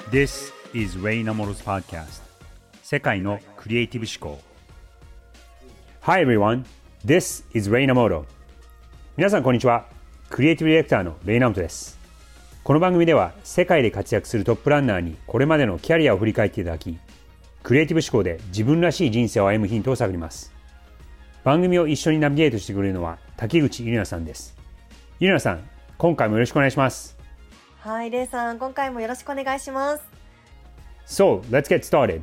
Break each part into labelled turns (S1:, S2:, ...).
S1: This is Ray Namoro's podcast 世界のクリエイティブ思考 Hi everyone, this is Ray Namoro 皆さんこんにちは。クリエイティブディレクターのレイナモトです。この番組では世界で活躍するトップランナーにこれまでのキャリアを振り返っていただき、クリエイティブ思考で自分らしい人生を歩むヒントを探ります。番組を一緒にナビゲートしてくれるのは滝口ゆりなさんです。ゆりなさん、今回もよろしくお願いします。
S2: はい、レイさん、今回もよろしくお願いします。
S1: So, let's get started.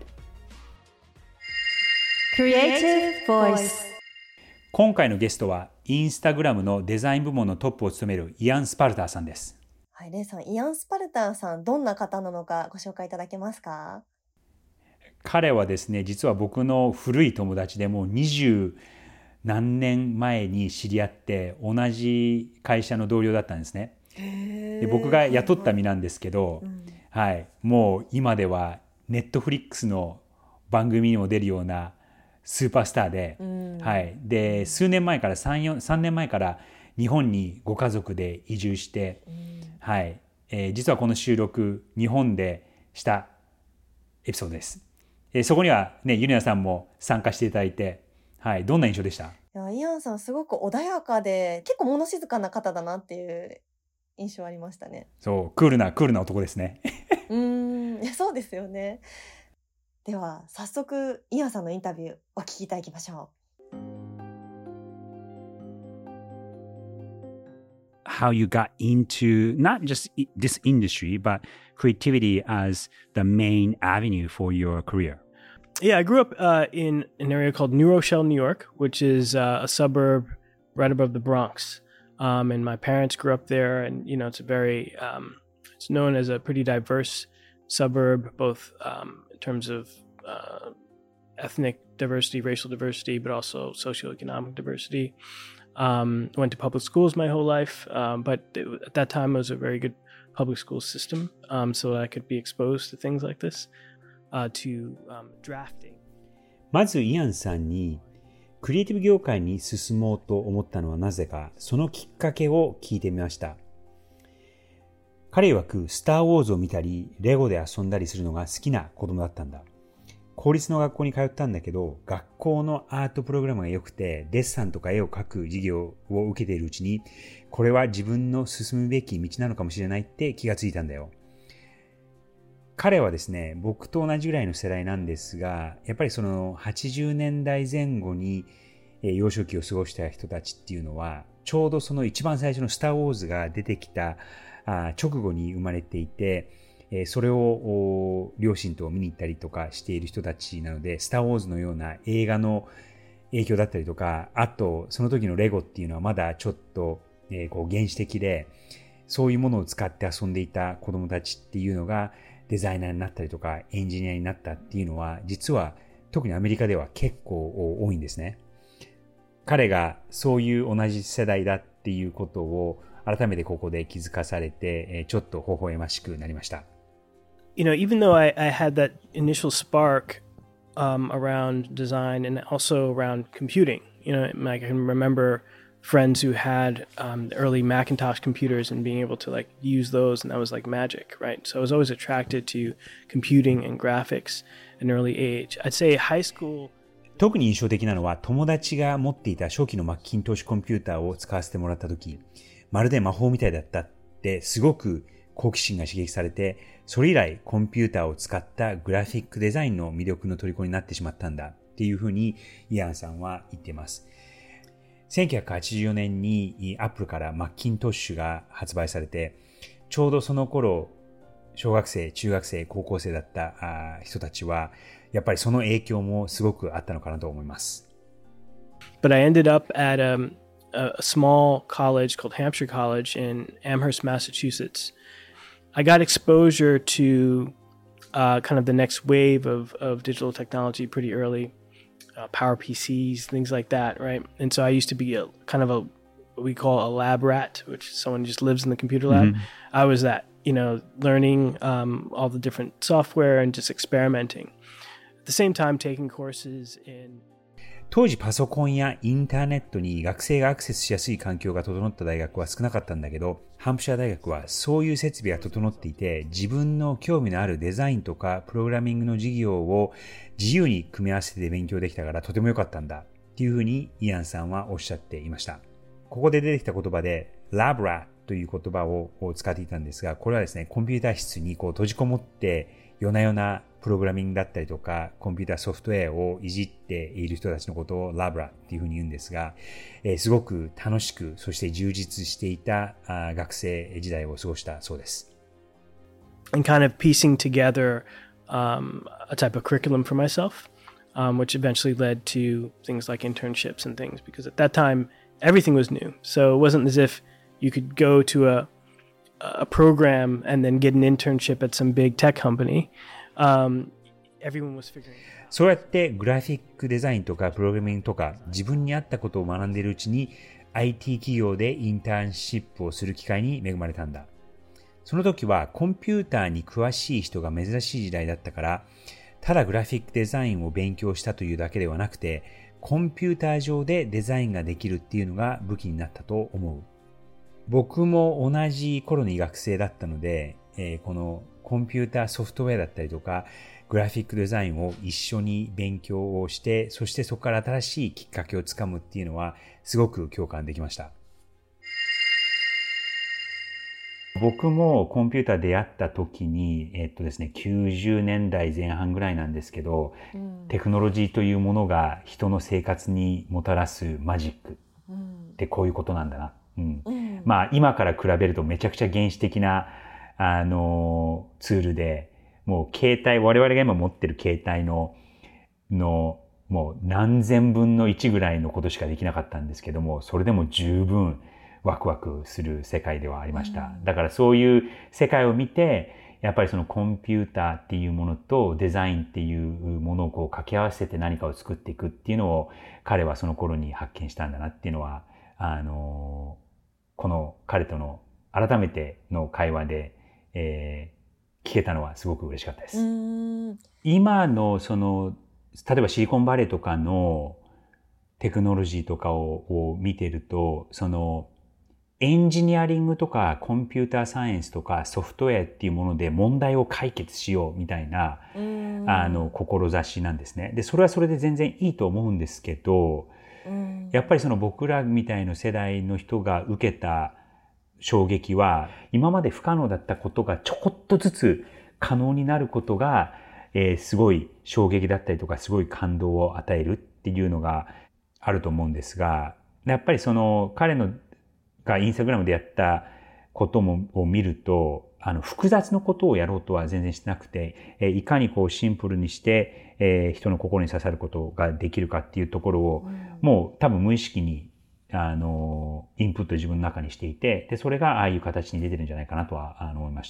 S2: Creative Voice。
S1: 今回のゲストは、インスタグラムのデザイン部門のトップを務めるイアン・スパルターさんです。
S2: はい、レイさん、イアン・スパルターさん、どんな方なのかご紹介いただけますか？
S1: 彼はですね、実は僕の古い友達でもう20何年前に知り合って同じ会社の同僚だったんですね。で僕が雇った身なんですけど、はい、もう今ではネットフリックスの番組にも出るようなスーパースターで、はい、で数年前から3年前から日本にご家族で移住して、はい、実はこの収録日本でしたエピソードです。そこにはね、ゆりなさんも参加していただいて、はい、どんな印象でした？
S2: いや、イアンさんすごく穏やかで結構物静かな方だなっていう印象ありましたね。
S1: そう、クールな男ですね。
S2: いや、そうですよね。では早速イアンさんのインタビューお聞きいただきましょう。
S1: How you got into not just this industry, but creativity as the main avenue for your career.
S3: Yeah, I grew up in an area called New Rochelle, New York, which is a suburb right above the Bronx. And my parents grew up there, and you know, it's it's known as a pretty diverse suburb, both in terms of ethnic diversity, racial diversity, but also socioeconomic diversity. Went to public schools my whole life, but at that time it was a very good public school system, so I could be exposed to things like this, to drafting.
S1: まずイアンさんにクリエイティブ業界に進もうと思ったのはなぜか、そのきっかけを聞いてみました。彼曰くスター・ウォーズを見たりレゴで遊んだりするのが好きな子供だったんだ。公立の学校に通ったんだけど、学校のアートプログラムが良くてデッサンとか絵を描く授業を受けているうちに、これは自分の進むべき道なのかもしれないって気がついたんだよ。彼はですね、僕と同じぐらいの世代なんですが、やっぱりその80年代前後に幼少期を過ごした人たちっていうのは、ちょうどその一番最初のスター・ウォーズが出てきた直後に生まれていて、それを両親と見に行ったりとかしている人たちなので、スター・ウォーズのような映画の影響だったりとか、あとその時のレゴっていうのはまだちょっとこう原始的で、そういうものを使って遊んでいた子供たちっていうのがデザイナーになったりとかエンジニアになったっていうのは、実は特にアメリカでは結構多いんですね。彼がそういう同じ世代だっていうことを改めてここで気づかされて、ちょっと微笑ましくなりました。
S3: You know, even though I had that initial spark around design and also around computing, you know, I can remember friends who had early Macintosh computers and being able to like use those, and that was like magic, right? So I was always attracted to computing and graphics at an early age. I'd say high school.
S1: 特に印象的なのは、友達が持っていた初期のマッキントッシュコンピューターを使わせてもらった時、まるで魔法みたいだったってすごく好奇心が刺激されて、それ以来コンピューターを使ったグラフィックデザインの魅力の虜になってしまったんだっていうふうにイアンさんは言っています。1984年にアップルからマッキントッシュが発売されて、ちょうどその頃小学生、中学生、高校生だった人たちはやっぱりその影響もすごくあったのかなと思います。
S3: But I ended up at a small college called Hampshire College in Amherst, Massachusetts. I got exposure to kind of the next wave of digital technology pretty early, Power PCs, things like that, right? And so I used to be a kind of what we call a lab rat, which is someone who just lives in the computer lab. I was that, you know, learning all the different software and just experimenting. At the same time, taking courses in
S1: 当時パソコンやインターネットに学生がアクセスしやすい環境が整った大学は少なかったんだけど、ハンプシャー大学はそういう設備が整っていて、自分の興味のあるデザインとかプログラミングの授業を自由に組み合わせて勉強できたからとても良かったんだっていうふうにイアンさんはおっしゃっていました。ここで出てきた言葉で Labra という言葉を使っていたんですが、これはですね、コンピューター室に閉じこもって夜な夜なプログラミングだったりとか、コンピューターソフトウェアをいじっている人たちのことをラブラっていうふうに言うんですが、すごく楽しく、そして充実していた学生時代を過ごしたそうです。
S3: And kind of piecing together a type of curriculum for myself, which eventually led to things like internships and things, because at that time, everything was new. So it wasn't as if you could go to a program and then get an internship at some big tech company.Everyone was figuring it out.
S1: そうやってグラフィックデザインとかプログラミングとか自分に合ったことを学んでいるうちに IT 企業でインターンシップをする機会に恵まれたんだ。その時はコンピューターに詳しい人が珍しい時代だったから、ただグラフィックデザインを勉強したというだけではなくて、コンピューター上でデザインができるっていうのが武器になったと思う。僕も同じ頃に学生だったので、このコンピューターソフトウェアだったりとか、グラフィックデザインを一緒に勉強をして、そしてそこから新しいきっかけをつかむっていうのは、すごく共感できました。僕もコンピューター出会った時に、ですね、90年代前半ぐらいなんですけど、テクノロジーというものが人の生活にもたらすマジックってこういうことなんだな。まあ今から比べるとめちゃくちゃ原始的なツールで、もう携帯、我々が今持ってる携帯のもう何千分の1ぐらいのことしかできなかったんですけども、それでも十分ワクワクする世界ではありました。だからそういう世界を見て、やっぱりそのコンピューターっていうものとデザインっていうものをこう掛け合わせて何かを作っていくっていうのを彼はその頃に発見したんだなっていうのは、この彼との改めての会話で、聞けたのはすごく嬉しかったです。今のその、例えばシリコンバレーとかのテクノロジーとかを見てると、そのエンジニアリングとかコンピューターサイエンスとかソフトウェアっていうもので問題を解決しようみたいな志なんですね。で、それはそれで全然いいと思うんですけど、やっぱりその僕らみたいな世代の人が受けた衝撃は、今まで不可能だったことがちょこっとずつ可能になることが、すごい衝撃だったりとか、すごい感動を与えるっていうのがあると思うんですが、やっぱりその彼のがインスタグラムでやったことを見ると、複雑なことをやろうとは全然してなくて、いかにこうシンプルにして、人の心に刺さることができるかっていうところを、もう多分無意識にインプット自分の中にしていて、で、それがああいう形に出てるんじゃないかなとは思いました。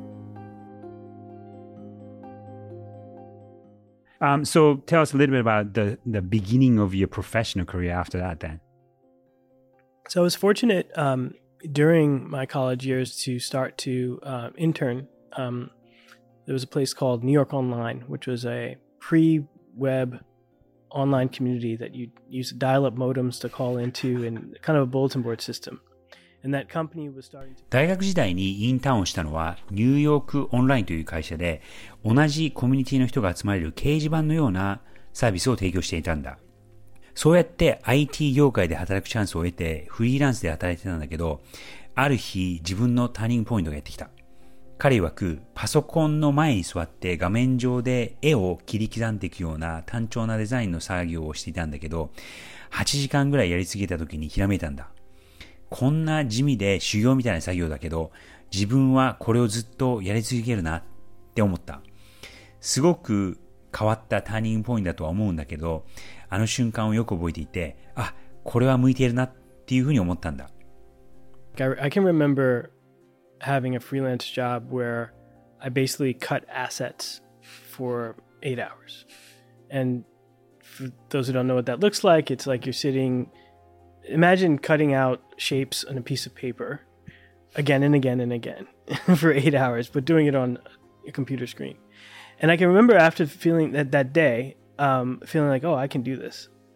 S1: So tell us a little bit about the beginning of your professional career after that then.
S3: So I was fortunate during my college years to start to intern. There was a place called New York Online, which was a pre-web online community that you use dial-up modems to call into and kind of a bulletin board system. And that company was starting to...
S1: 大学時代にインターンをしたのはニューヨークオンラインという会社で、同じコミュニティの人が集まれる掲示板のようなサービスを提供していたんだ。そうやって IT 業界で働くチャンスを得てフリーランスで働いてたんだけど、ある日自分のターニングポイントがやってきた。彼曰くパソコンの前に座って画面上で絵を切り刻んでいくような単調なデザインの作業をしていたんだけど、8時間ぐらいやりすぎた時にひらめいたんだ。こんな地味で修行みたいな作業だけど、自分はこれをずっとやり続けるなって思った。すごく変わったターニングポイントだとは思うんだけど、あの瞬間をよく覚えていて、あ、これは向いているなっていうふうに思ったんだ。
S3: I can remember having a freelance job where I basically cut assets for 8 hours. And for those who don't know what that looks like, it's like you're sitting, imagine cutting out shapes on a piece of paper again and again and again for 8 hours, but doing it on a computer screen. And I can remember after feeling that day, feeling like, oh, I can do this.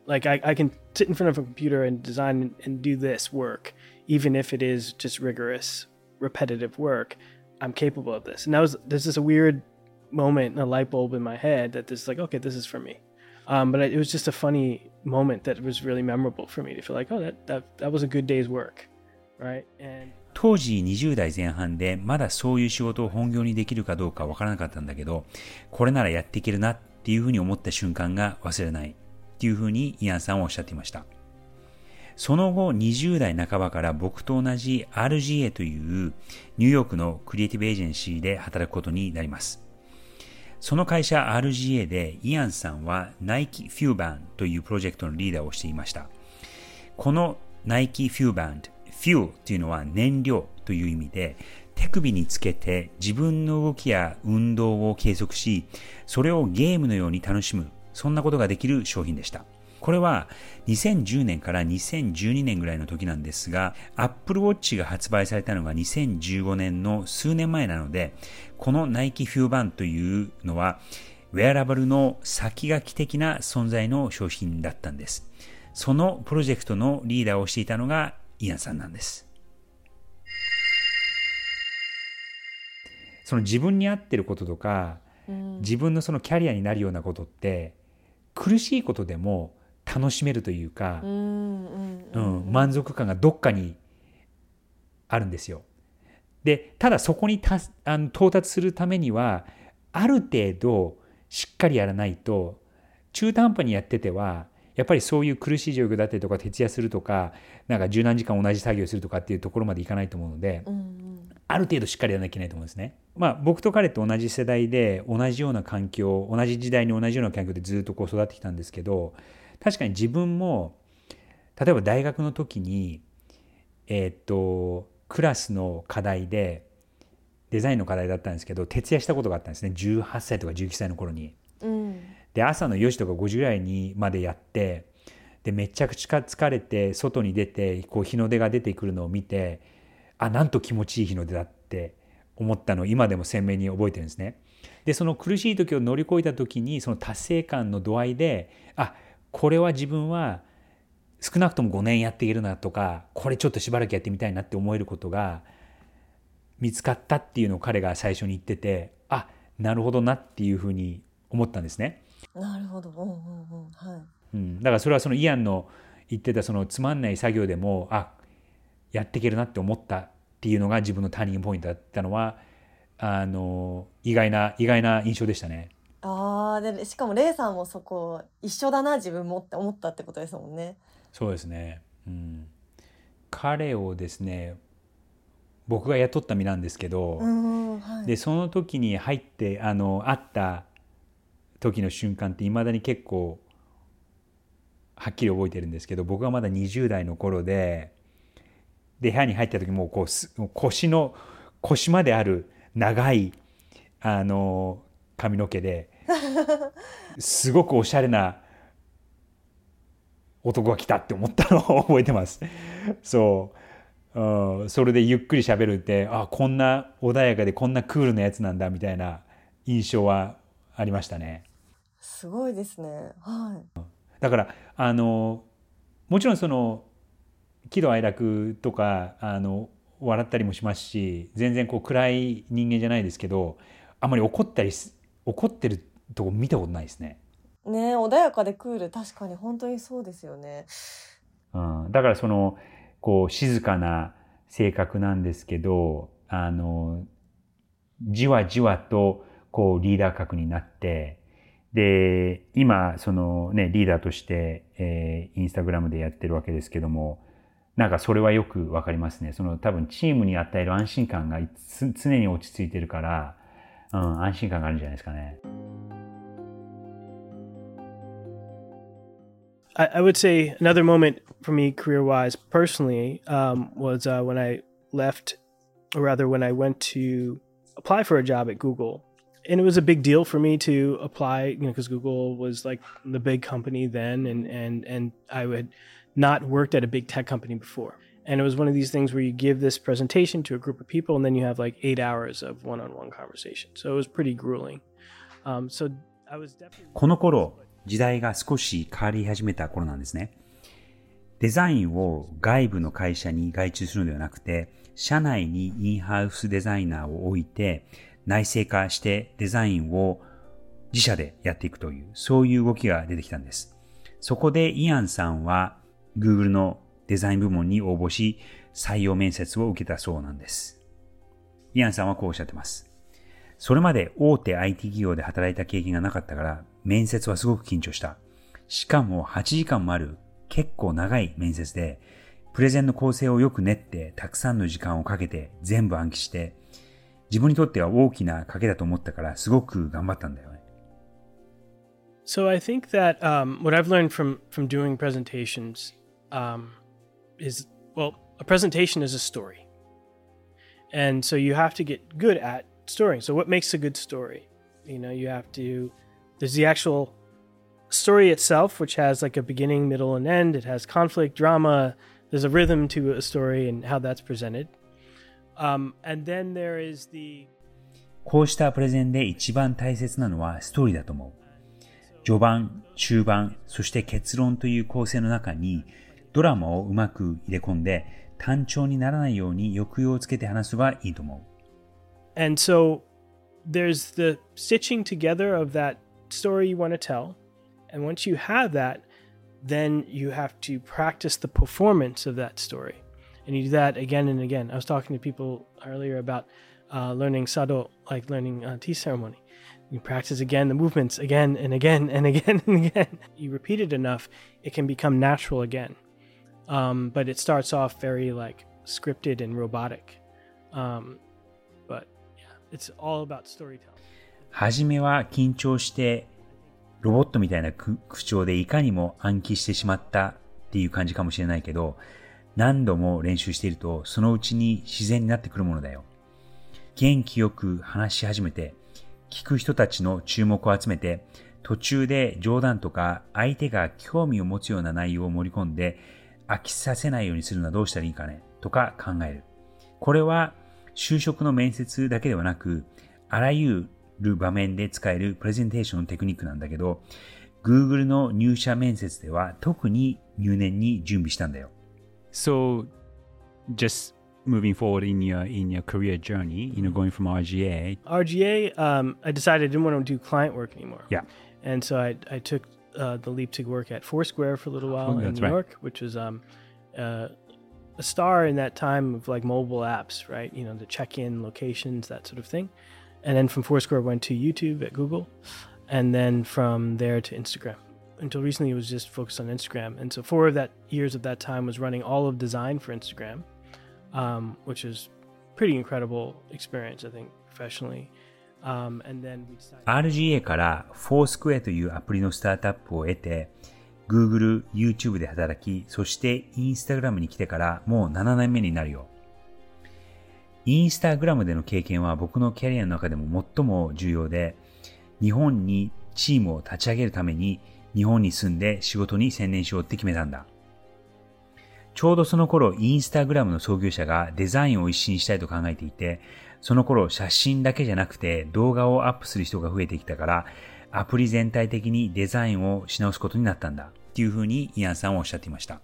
S3: Like I can sit in front of a computer and design and do this work, even if it is just rigorous, repetitive work. I'm capable of this. And there's just a weird moment, a light bulb in my head that this is like, okay, this is for me. But it was just a funny moment that was really memorable for me to feel like, oh, that was a good day's work, right? And
S1: 当時20代前半でまだそういう仕事を本業にできるかどうかわからなかったんだけど、これならやっていけるなっていうふうに思った瞬間が忘れないっていうふうにイアンさんはおっしゃっていました。その後20代半ばから僕と同じ RGA というニューヨークのクリエイティブエージェンシーで働くことになります。その会社 RGA でイアンさんはナイキフューバンというプロジェクトのリーダーをしていました。このナイキフューバンド、フューというのは燃料という意味で、手首につけて自分の動きや運動を計測し、それをゲームのように楽しむ、そんなことができる商品でした。これは2010年から2012年ぐらいの時なんですが、Apple Watch が発売されたのが2015年の数年前なので、このナイキフューバンというのは、ウェアラブルの先駆け的な存在の商品だったんです。そのプロジェクトのリーダーをしていたのがイアンさんなんです。その自分に合ってることとか、自分のそのキャリアになるようなことって、苦しいことでも楽しめるというか、満足感がどっかにあるんですよ。で、ただそこに到達するためには、ある程度しっかりやらないと、中途半端にやってては、やっぱりそういう苦しい状況だったりとか、徹夜するとか、なんか十何時間同じ作業するとかっていうところまでいかないと思うので、ある程度しっかりやらなきゃいけないと思うんですね。まあ僕と彼と同じ世代で、同じような環境、同じ時代に同じような環境でずっとこう育ってきたんですけど、確かに自分も、例えば大学の時に、クラスの課題で、デザインの課題だったんですけど、徹夜したことがあったんですね。18歳とか19歳の頃に。で、朝の4時とか5時ぐらいにまでやって、で、めちゃくちゃ疲れて、外に出て、こう日の出が出てくるのを見て、あ、なんと気持ちいい日の出だって思ったのを今でも鮮明に覚えてるんですね。で、その苦しい時を乗り越えた時に、その達成感の度合いで、あ、これは自分は少なくとも5年やっていけるなとか、これちょっとしばらくやってみたいなって思えることが見つかったっていうのを彼が最初に言ってて、あ、なるほどなっていうふうに思ったんですね。
S2: なるほど。はい。
S1: だからそれはそのイアンの言ってたそのつまんない作業でも、あ、やっていけるなって思ったっていうのが自分のターニングポイントだったのは、意外な印象でしたね。
S2: でしかもレイさんもそこ一緒だな自分もって思ったってことですもんね。
S1: そうですね。彼をですね、僕が雇った身なんですけど、でその時に入って会った時の瞬間っていまだに結構はっきり覚えてるんですけど、僕がまだ20代の頃で部屋に入った時もうこう腰まである長い髪の毛ですごくおしゃれな男が来たって思ったのを覚えてます。そう、それでゆっくり喋るって、あ、こんな穏やかでこんなクールなやつなんだみたいな印象はありましたね。
S2: すごいですね。はい。
S1: だからもちろんその喜怒哀楽とか笑ったりもしますし、全然こう暗い人間じゃないですけど、あんまり怒ってるとこ見たことないですね。
S2: ね、穏やかでクール、確かに本当にそうですよね。
S1: だからそのこう静かな性格なんですけど、じわじわとこうリーダー格になって、で今そのねリーダーとして、インスタグラムでやってるわけですけども、なんかそれはよくわかりますね。その多分チームに与える安心感が常に落ち着いてるから、安心感があるんじゃないですかね。
S3: I would say another moment for me career-wise personally was when I left, or rather when I went to apply for a job at Google. And it was a big deal for me to apply, because Google was like the big company then, and I had not worked at a big tech company before. And it was one of these things where you give this presentation to a group of people, and then you have like 8 hours of one-on-one conversation. So it was pretty grueling. So I was definitely...
S1: この頃時代が少し変わり始めた頃なんですね。デザインを外部の会社に外注するのではなくて、社内にインハウスデザイナーを置いて、内製化してデザインを自社でやっていくという、そういう動きが出てきたんです。そこでイアンさんは Google のデザイン部門に応募し、採用面接を受けたそうなんです。イアンさんはこうおっしゃってます。それまで大手 IT 企業で働いた経験がなかったから、面接はすごく緊張した。しかも8時間もある結構長い面接で、プレゼンの構成をよく練って、たくさんの時間をかけて全部暗記して、自分にとっては大きな賭けだと思ったから、すごく頑張ったんだよね。
S3: So I think that what I've learned from doing presentations is, well, a presentation is a story. And so you have to get good at story. So what makes a good story? You know, you have to, there's the actual story itself, which has like a beginning, middle, and end. It has conflict, drama. There's a rhythm to a story and how that's presented. And then there is the...
S1: こうしたプレゼンで一番大切なのはストーリーだと思う。序盤、中盤、そして結論という構成の中にドラマをうまく入れ込んで単調にならないように抑揚をつけて話すのがいいと思う。
S3: And so there's the stitching together of that story you want to tell. And once you have that, then you have to practice the performance of that story. And you do that again and again. I was talking to people earlier about learning sado, like learning tea ceremony. You practice again the movements again and again and again and again. You repeat it enough, it can become natural again. But it starts off very like scripted and robotic. But yeah, it's all about storytelling.
S1: はじめは緊張してロボットみたいな口調でいかにも暗記してしまったっていう感じかもしれないけど、何度も練習しているとそのうちに自然になってくるものだよ。元気よく話し始めて、聞く人たちの注目を集めて、途中で冗談とか相手が興味を持つような内容を盛り込んで飽きさせないようにするのはどうしたらいいかねとか考える。これは就職の面接だけではなく、あらゆる場面で使えるプレゼンテーションのテクニックなんだけど、Google の入社面接では特に入念に準備したんだよ。
S4: So, just moving forward in your career journey, going from RGA.
S3: I decided I didn't want to do client work anymore.
S4: Yeah.
S3: And so I took the leap to work at Foursquare for a little while in New York, which was a star in that time of like mobile apps, right? You know, the check-in locations, that sort of thing. And then from Foursquare, I went to YouTube at Google. And then from there to Instagram. Until recently, it was just focused on Instagram. And so 4 of that years of that time was running all of design for Instagram, which is pretty incredible experience, I think, professionally. And then we decided...
S1: RGA からFoursquareというアプリのスタートアップを得て、Google、YouTube で働き、そして Instagram に来てからもう7年目になるよ。Instagram での経験は僕のキャリアの中でも最も重要で、日本にチームを立ち上げるために日本に住んで仕事に専念しようって決めたんだ。ちょうどその頃、インスタグラムの創業者がデザインを一新したいと考えていて、その頃写真だけじゃなくて動画をアップする人が増えてきたから、アプリ全体的にデザインをし直すことになったんだ。っていうふうにイアンさんはおっしゃっていました。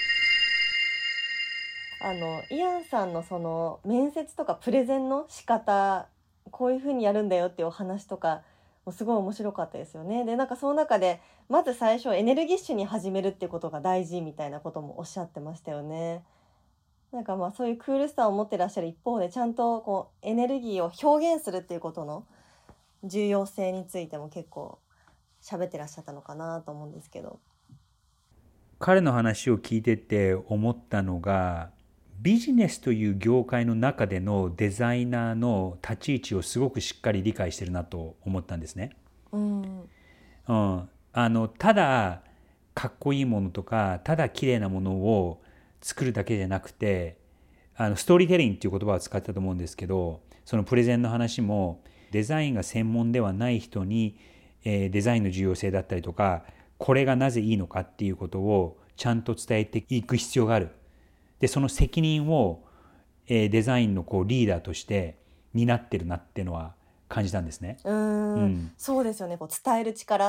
S2: イアンさんのその面接とかプレゼンの仕方、こういうふうにやるんだよっていうお話とか、すごい面白かったですよね。で、なんかその中でまず最初エネルギッシュに始めるっていうことが大事みたいなこともおっしゃってましたよね。なんかまあそういうクールさを持ってらっしゃる一方で、ちゃんとこうエネルギーを表現するっていうことの重要性についても結構喋ってらっしゃったのかなと思うんですけど。
S1: 彼の話を聞いてて思ったのが、ビジネスという業界の中でのデザイナーの立ち位置をすごくしっかり理解してるなと思ったんですね。ただかっこいいものとかただ綺麗なものを作るだけじゃなくて、ストーリーテリングっていう言葉を使ってたと思うんですけど、そのプレゼンの話もデザインが専門ではない人に、デザインの重要性だったりとか、これがなぜいいのかっていうことをちゃんと伝えていく必要がある。で、その責任を、デザインのこうリーダーとして担ってるなっていうのは感じたんですね。
S2: そうですよね。こう伝える力っ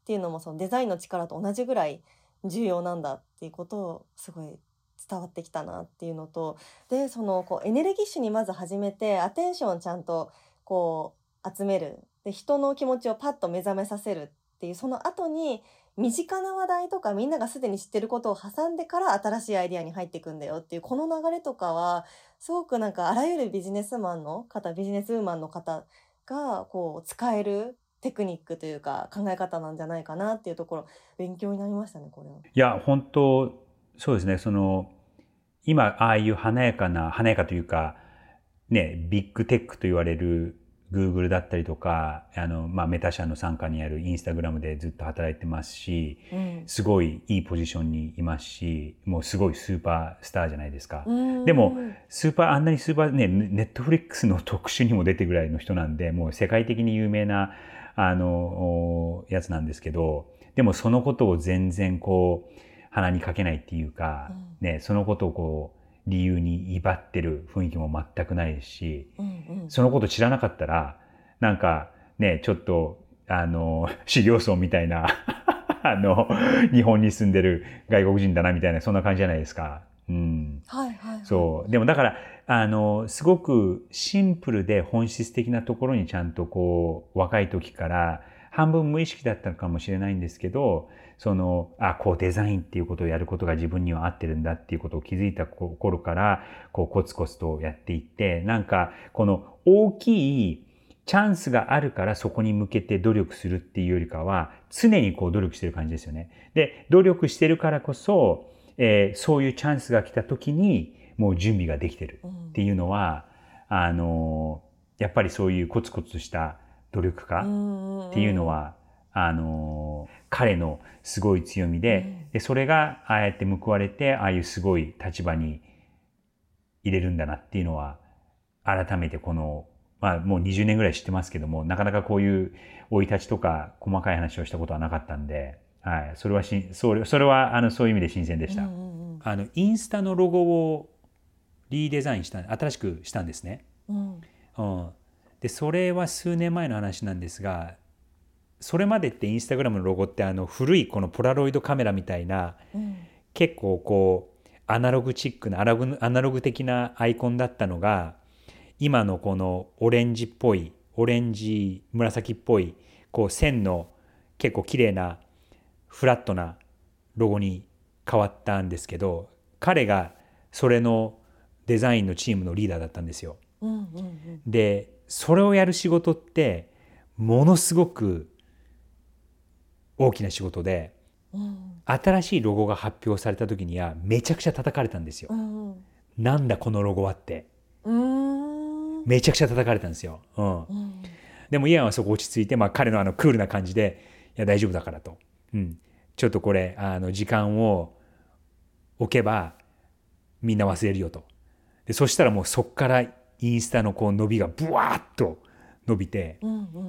S2: っていうのもそのデザインの力と同じぐらい重要なんだっていうことをすごい伝わってきたなっていうのと、でそのこうエネルギッシュにまず始めてアテンションをちゃんとこう集める、で人の気持ちをパッと目覚めさせるっていう、その後に身近な話題とかみんながすでに知ってることを挟んでから新しいアイディアに入っていくんだよっていうこの流れとかはすごくなんかあらゆるビジネスマンの方、ビジネスウーマンの方がこう使えるテクニックというか考え方なんじゃないかなっていうところ、勉強になりましたねこれは。
S1: いや本当そうですね。今ああいう華やかというかね、ビッグテックと言われる Google だったりとかメタ社の傘下にあるインスタグラムでずっと働いてますし、すごいいいポジションにいますし、もうすごいスーパースターじゃないですか。でもあんなにスーパーね、ネットフリックスの特集にも出てぐらいの人なんで、もう世界的に有名なやつなんですけど、でもそのことを全然こう鼻にかけないっていうか、ね、そのことをこう理由に威張ってる雰囲気も全くないですし、そのこと知らなかったらなんかね、ちょっと修行僧みたいな日本に住んでる外国人だなみたいな、そんな感じじゃないですか。そうでもだからすごくシンプルで本質的なところにちゃんとこう若い時から半分無意識だったのかもしれないんですけど、こうデザインっていうことをやることが自分には合ってるんだっていうことを気づいた頃からこうコツコツとやっていって、なんかこの大きいチャンスがあるからそこに向けて努力するっていうよりかは常にこう努力してる感じですよね。で努力してるからこそ、そういうチャンスが来た時にもう準備ができてるっていうのは、やっぱりそういうコツコツした努力家っていうのは彼のすごい強みで、それがああやって報われてああいうすごい立場に入れるんだなっていうのは改めてもう20年ぐらい知ってますけども、なかなかこういう生い立ちとか細かい話をしたことはなかったんで、それはそういう意味で新鮮でした。インスタのロゴをリデザイン新しくしたんですね。でそれは数年前の話なんですが、それまでってインスタグラムのロゴって古いこのポラロイドカメラみたいな、結構こうアナログチックなアナログ的なアイコンだったのが、今のこのオレンジ紫っぽいこう線の結構綺麗なフラットなロゴに変わったんですけど、彼がそれのデザインのチームのリーダーだったんですよ。でそれをやる仕事ってものすごく大きな仕事で、新しいロゴが発表された時にはめちゃくちゃ叩かれたんですよ。なんだこのロゴはって、めちゃくちゃ叩かれたんですよ。でもイアンはそこ落ち着いて、彼のクールな感じで、いや大丈夫だからと、ちょっとこれ時間を置けばみんな忘れるよと。でそしたらもうそっからインスタのこう伸びがブワーッと伸びて、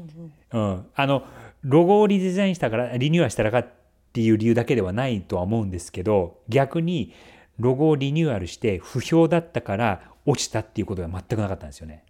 S1: ロゴをリデザインしたからリニューアルしたらかっていう理由だけではないとは思うんですけど、逆にロゴをリニューアルして不評だったから落ちたっていうことが全くなかったんですよね。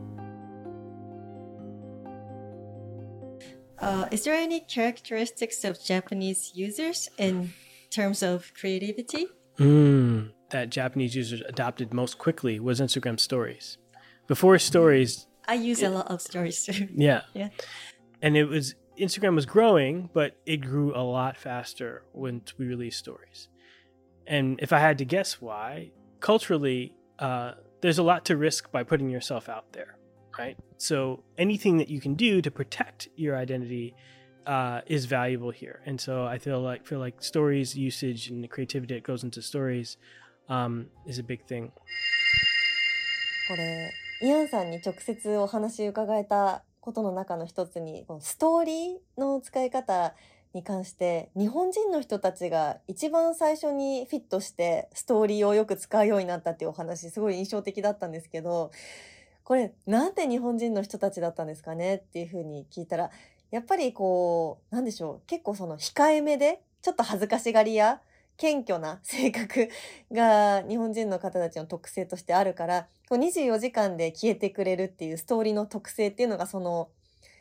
S5: Is there any characteristics of Japanese users in terms of creativity?
S3: That Japanese users adopted most quickly was Instagram stories. Before stories,
S5: I use a lot of stories too.
S3: Yeah. And Instagram was growing, but it grew a lot faster when we released stories. And if I had to guess why, culturally, there's a lot to risk by putting yourself out there, right? So anything that you can do to protect your identity is valuable here. And so I feel like stories usage and the creativity that goes into stories is a big thing.
S2: これイアンさんに直接お話伺えたことの中の一つに、このストーリーの使い方に関して日本人の人たちが一番最初にフィットしてストーリーをよく使うようになったっていうお話、すごい印象的だったんですけど、これなんで日本人の人たちだったんですかねっていうふうに聞いたら、やっぱりこうなんでしょう、結構その控えめでちょっと恥ずかしがりや謙虚な性格が日本人の方たちの特性としてあるから、こう24時間で消えてくれるっていうストーリーの特性っていうのがその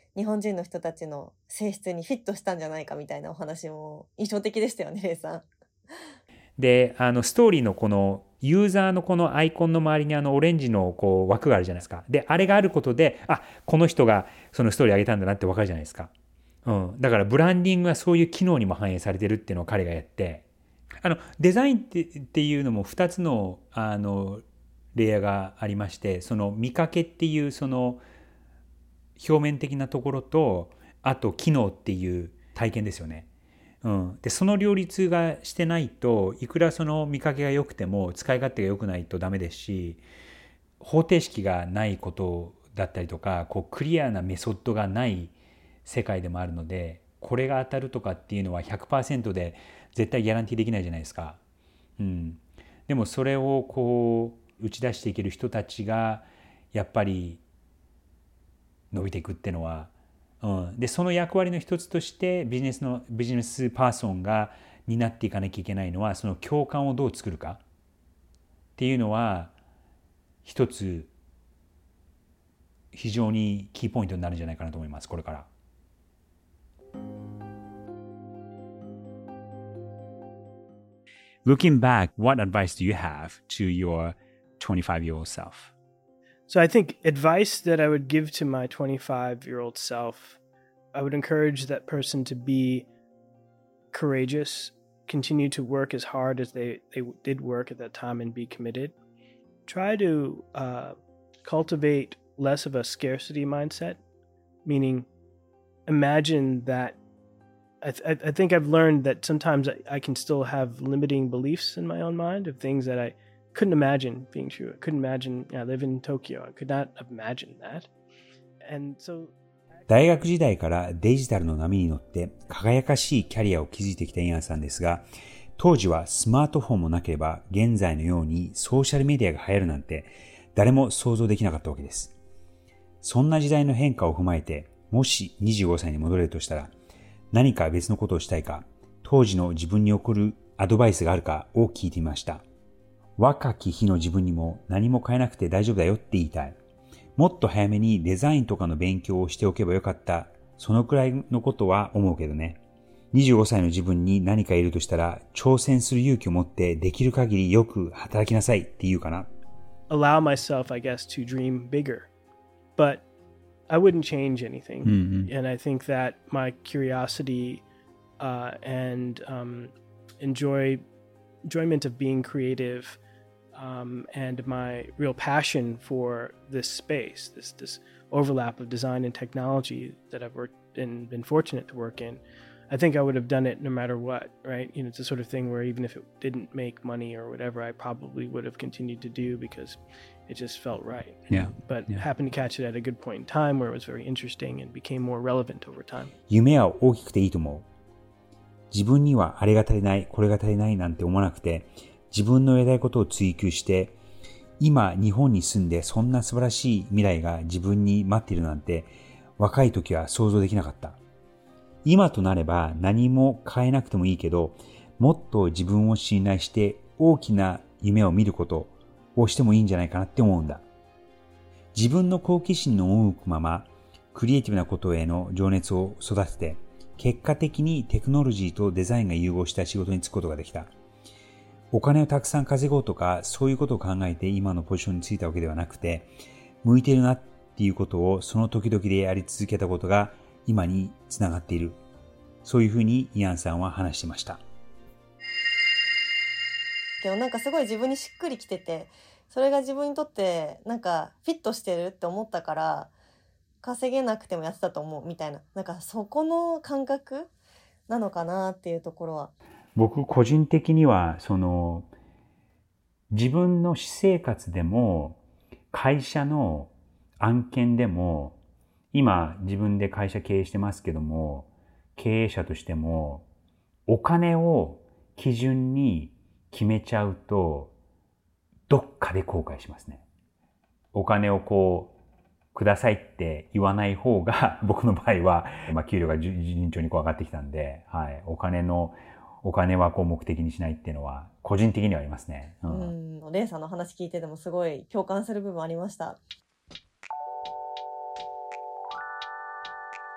S2: 日本人の人たちの性質にフィットしたんじゃないかみたいなお話も印象的でしたよね、レイさん。
S1: で、ストーリーのこのユーザーのこのアイコンの周りにオレンジのこう枠があるじゃないですか。で、あれがあることで、あ、この人がそのストーリー上げたんだなってわかるじゃないですか。だからブランディングはそういう機能にも反映されてるっていうのを彼がやって、デザインっていうのも2つの、レイヤーがありまして、その見かけっていうその表面的なところと、あと機能っていう体験ですよね。でその両立がしてないと、いくらその見かけが良くても使い勝手が良くないとダメですし、方程式がないことだったりとか、こうクリアなメソッドがない世界でもあるので、これが当たるとかっていうのは 100% で絶対ギャランティーできないじゃないですか。でもそれをこう打ち出していける人たちがやっぱり伸びていくっていうのは、でその役割の一つとしてビジネスパーソンが担っていかなきゃいけないのは、その共感をどう作るかっていうのは一つ非常にキーポイントになるんじゃないかなと思います、これから。
S4: Looking back, what advice do you have to your 25-year-old self?
S3: So I think advice that I would give to my 25-year-old self, I would encourage that person to be courageous, continue to work as hard as they did work at that time and be committed. Try to cultivate less of a scarcity mindset, meaning imagine that I think I've learned that sometimes I can still have limiting beliefs in my own mind of things that I couldn't imagine being true. I couldn't imagine I live in Tokyo. I could not imagine that. And so
S1: 大学時代からデジタルの波に乗って輝かしいキャリアを築いてきたイアンさんですが、当時はスマートフォンもなければ現在のようにソーシャルメディアが流行るなんて誰も想像できなかったわけです。そんな時代の変化を踏まえて、もし25歳に戻れるとしたら何か別のことをしたいか、当時の自分に送るアドバイスがあるかを聞いてみました。若き日の自分にも何も変えなくて大丈夫だよって言いたい。もっと早めにデザインとかの勉強をしておけばよかった。そのくらいのことは思うけどね。25歳の自分に何かいるとしたら、挑戦する勇気を持ってできる限りよく働きなさいって言うかな。
S3: allow myself, I guess, to dream bigger. But I wouldn't change anything. And I think that my curiosity and enjoyment of being creative and my real passion for this space, this overlap of design and technology that I've worked and been fortunate to work in, I think I would have done it no matter what, right? You know, it's the sort of thing where even if it didn't make money or whatever, I probably would have continued to do because it just felt right. But happened to catch it at a good point in time where it was very interesting and became more relevant over time.
S1: 夢は大きくていいと思う。自分にはあれが足りない、これが足りないなんて思わなくて、自分のやりたいことを追求して、今日本に住んでそんな素晴らしい未来が自分に待っているなんて、若い時は想像できなかった。今となれば何も変えなくてもいいけど、もっと自分を信頼して大きな夢を見ることをしてもいいんじゃないかなって思うんだ。自分の好奇心の赴くまま、クリエイティブなことへの情熱を育てて、結果的にテクノロジーとデザインが融合した仕事に就くことができた。お金をたくさん稼ごうとか、そういうことを考えて今のポジションに就いたわけではなくて、向いているなっていうことをその時々でやり続けたことが今につながっている。そういうふうにイアンさんは話していました。
S2: でもなんかすごい自分にしっくりきてて、それが自分にとってなんかフィットしてるって思ったから稼げなくてもやってたと思うみたいな、なんかそこの感覚なのかなっていうところは。
S1: 僕個人的には自分の私生活でも会社の案件でも、今自分で会社経営してますけども、経営者としてもお金を基準に決めちゃうとどっかで後悔しますね。お金をくださいって言わない方が僕の場合は、給料が順調に上がってきたんで、はい、お金は目的にしないっていうのは個人的にはありますね。
S2: レイさんの話聞いててもすごい共感する部分ありました。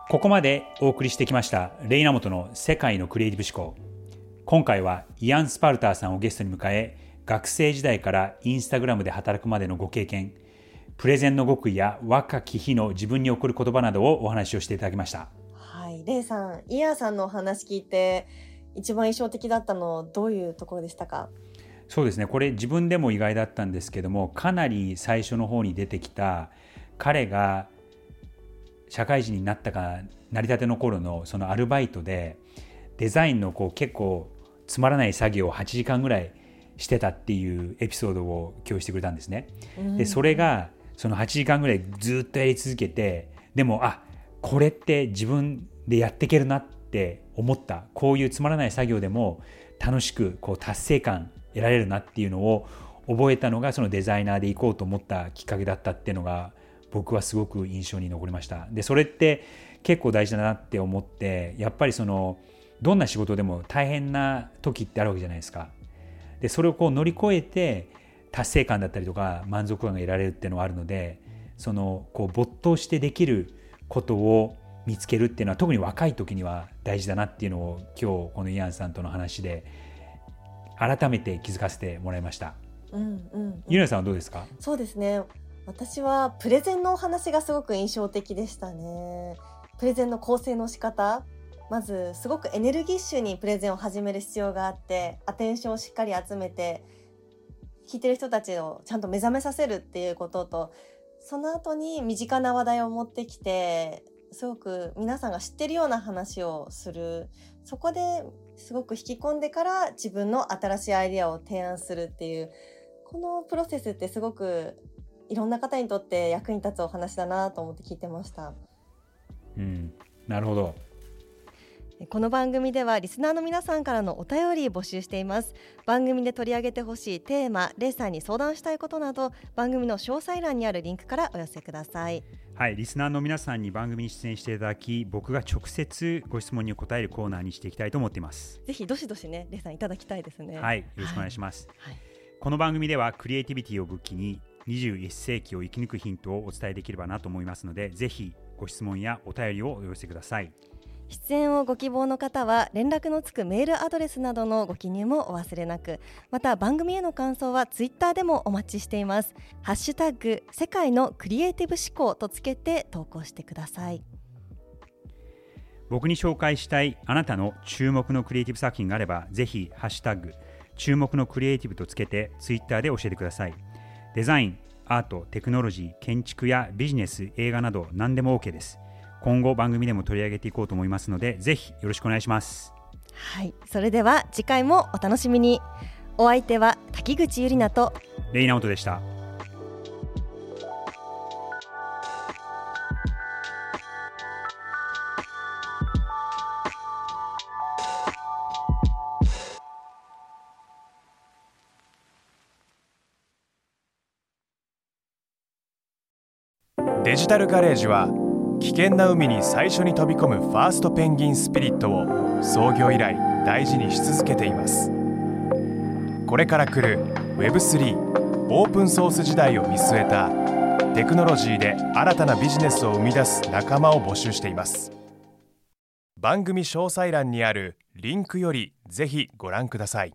S1: ここまでお送りしてきましたレイナモトの世界のクリエイティブ思考。今回はイアン・スパルターさんをゲストに迎え、学生時代からインスタグラムで働くまでのご経験、プレゼンの極意や若き日の自分に送る言葉などをお話をしていただきました。
S2: はい、レイさん、イアンさんのお話聞いて一番印象的だったのどういうところでしたか？
S1: そうですね、これ自分でも意外だったんですけども、かなり最初の方に出てきた彼が社会人になったかなりたての頃のそのアルバイトでデザインの結構つまらない作業を8時間ぐらいしてたっていうエピソードを共有してくれたんですね。でそれがその8時間ぐらいずっとやり続けて、でもこれって自分でやっていけるなって思った、こういうつまらない作業でも楽しく達成感得られるなっていうのを覚えたのが、そのデザイナーで行こうと思ったきっかけだったっていうのが僕はすごく印象に残りました。でそれって結構大事だなって思って、やっぱりどんな仕事でも大変な時ってあるわけじゃないですか。でそれを乗り越えて達成感だったりとか満足感が得られるっていうのはあるので、没頭してできることを見つけるっていうのは特に若い時には大事だなっていうのを今日このイアンさんとの話で改めて気づかせてもらいました。ゆなさんはどうですか？
S2: そうですね、私はプレゼンのお話がすごく印象的でしたね。プレゼンの構成の仕方、まずすごくエネルギッシュにプレゼンを始める必要があって、アテンションをしっかり集めて聞いてる人たちをちゃんと目覚めさせるっていうことと、その後に身近な話題を持ってきてすごく皆さんが知ってるような話をする、そこですごく引き込んでから自分の新しいアイデアを提案するっていう、このプロセスってすごくいろんな方にとって役に立つお話だなと思って聞いてました。
S1: なるほど。
S2: この番組ではリスナーの皆さんからのお便り募集しています。番組で取り上げてほしいテーマ、レイさんに相談したいことなど、番組の詳細欄にあるリンクからお寄せください。
S1: はい、リスナーの皆さんに番組に出演していただき、僕が直接ご質問に答えるコーナーにしていきたいと思っています。
S2: ぜひどしどしね、レイさんいただきたいですね。
S1: はい、よろしくお願いします。
S2: はい、
S1: この番組ではクリエイティビティを武器に21世紀を生き抜くヒントをお伝えできればなと思いますので、ぜひご質問やお便りをお寄せください。
S2: 出演をご希望の方は連絡のつくメールアドレスなどのご記入もお忘れなく、また番組への感想はツイッターでもお待ちしています。ハッシュタグ世界のクリエイティブ思考とつけて投稿してください。
S1: 僕に紹介したいあなたの注目のクリエイティブ作品があれば、ぜひハッシュタグ注目のクリエイティブとつけてツイッターで教えてください。デザイン、アート、テクノロジー、建築やビジネス、映画など何でも OK です。今後番組でも取り上げていこうと思いますので、ぜひよろしくお願いします。
S2: はい、それでは次回もお楽しみに。お相手は滝口ゆりなと
S1: レイナオトでした。
S6: デジタルガレージは危険な海に最初に飛び込むファーストペンギンスピリットを創業以来大事にし続けています。これから来る Web3 オープンソース時代を見据えたテクノロジーで新たなビジネスを生み出す仲間を募集しています。番組詳細欄にあるリンクよりぜひご覧ください。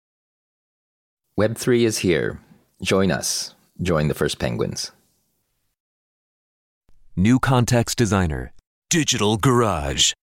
S7: Web3 is here. Join us. Join the first penguins.
S8: New Context Designer, Digital Garage.